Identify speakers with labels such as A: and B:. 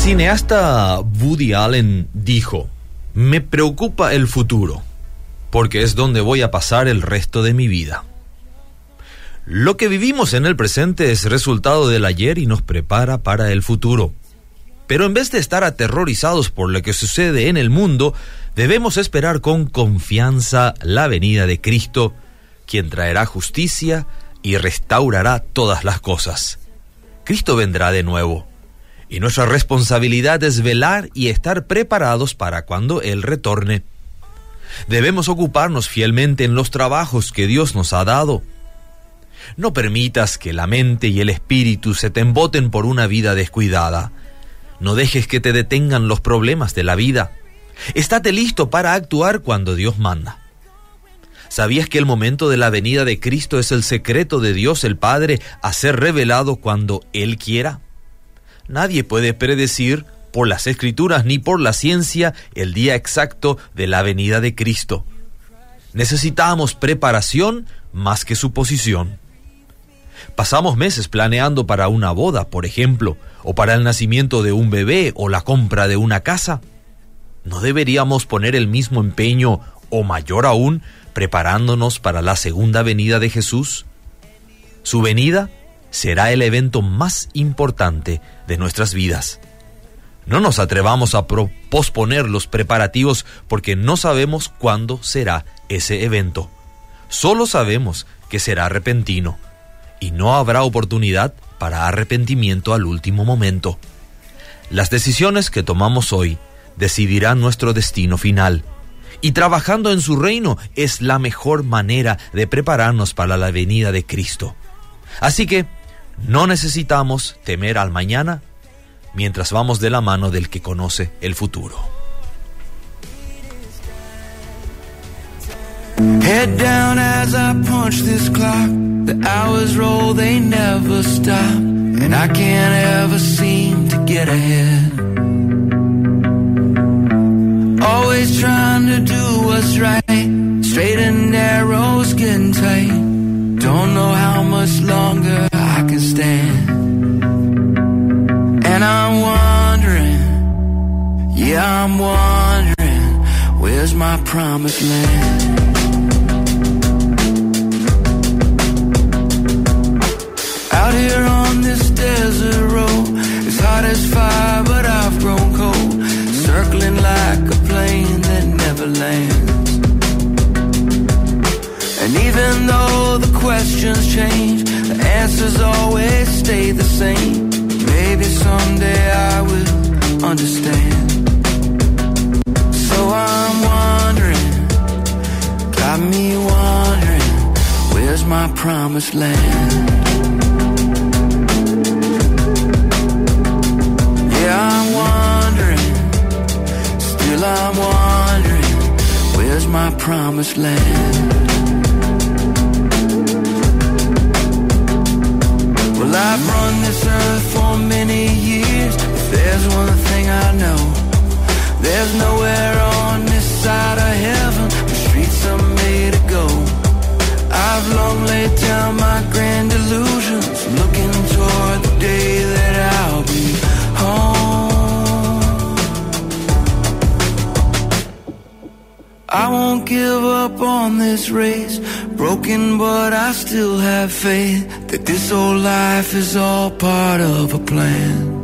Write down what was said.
A: cineasta Woody Allen dijo: "Me preocupa el futuro, porque es donde voy a pasar el resto de mi vida". Lo que vivimos en el presente es resultado del ayer y nos prepara para el futuro. Pero en vez de estar aterrorizados por lo que sucede en el mundo, debemos esperar con confianza la venida de Cristo, quien traerá justicia y restaurará todas las cosas. Cristo vendrá de nuevo, y nuestra responsabilidad es velar y estar preparados para cuando Él retorne. Debemos ocuparnos fielmente en los trabajos que Dios nos ha dado. No permitas que la mente y el espíritu se te emboten por una vida descuidada. No dejes que te detengan los problemas de la vida. Estate listo para actuar cuando Dios manda. ¿Sabías que el momento de la venida de Cristo es el secreto de Dios el Padre a ser revelado cuando Él quiera? Nadie puede predecir por las Escrituras ni por la ciencia el día exacto de la venida de Cristo. Necesitamos preparación más que suposición. Pasamos meses planeando para una boda, por ejemplo, o para el nacimiento de un bebé o la compra de una casa. ¿No deberíamos poner el mismo empeño, o mayor aún, preparándonos para la segunda venida de Jesús? Su venida será el evento más importante de nuestras vidas. No nos atrevamos a posponer los preparativos porque no sabemos cuándo será ese evento. Solo sabemos que será repentino y no habrá oportunidad para arrepentimiento al último momento. Las decisiones que tomamos hoy decidirán nuestro destino final. Y trabajando en su reino es la mejor manera de prepararnos para la venida de Cristo. Así que no necesitamos temer al mañana mientras vamos de la mano del que conoce el futuro.
B: Head down as I punch this clock. The hours roll, they never stop. And I can't ever seem to get ahead. Always trying to do what's right. Straight and narrow, skin tight. Don't know how much longer I can stand. And I'm wondering, yeah, I'm wondering, where's my promised land? Out here on this desert road, it's hot as fire, but I've grown cold. Circling like a plane that never lands. And even though the questions change, the answers always stay the same. Maybe someday I will understand. So I'm wondering, got me wondering, where's my promised land? Yeah, I'm wondering, still I'm wondering, where's my promised land? Well, I've run this earth for many years. If there's one thing I know, there's nowhere on this side of heaven the streets are made to go. I've long laid down my grand illusions, looking toward the day that I'll be home. I won't give up on this race, broken but I still have faith that this old life is all part of a plan.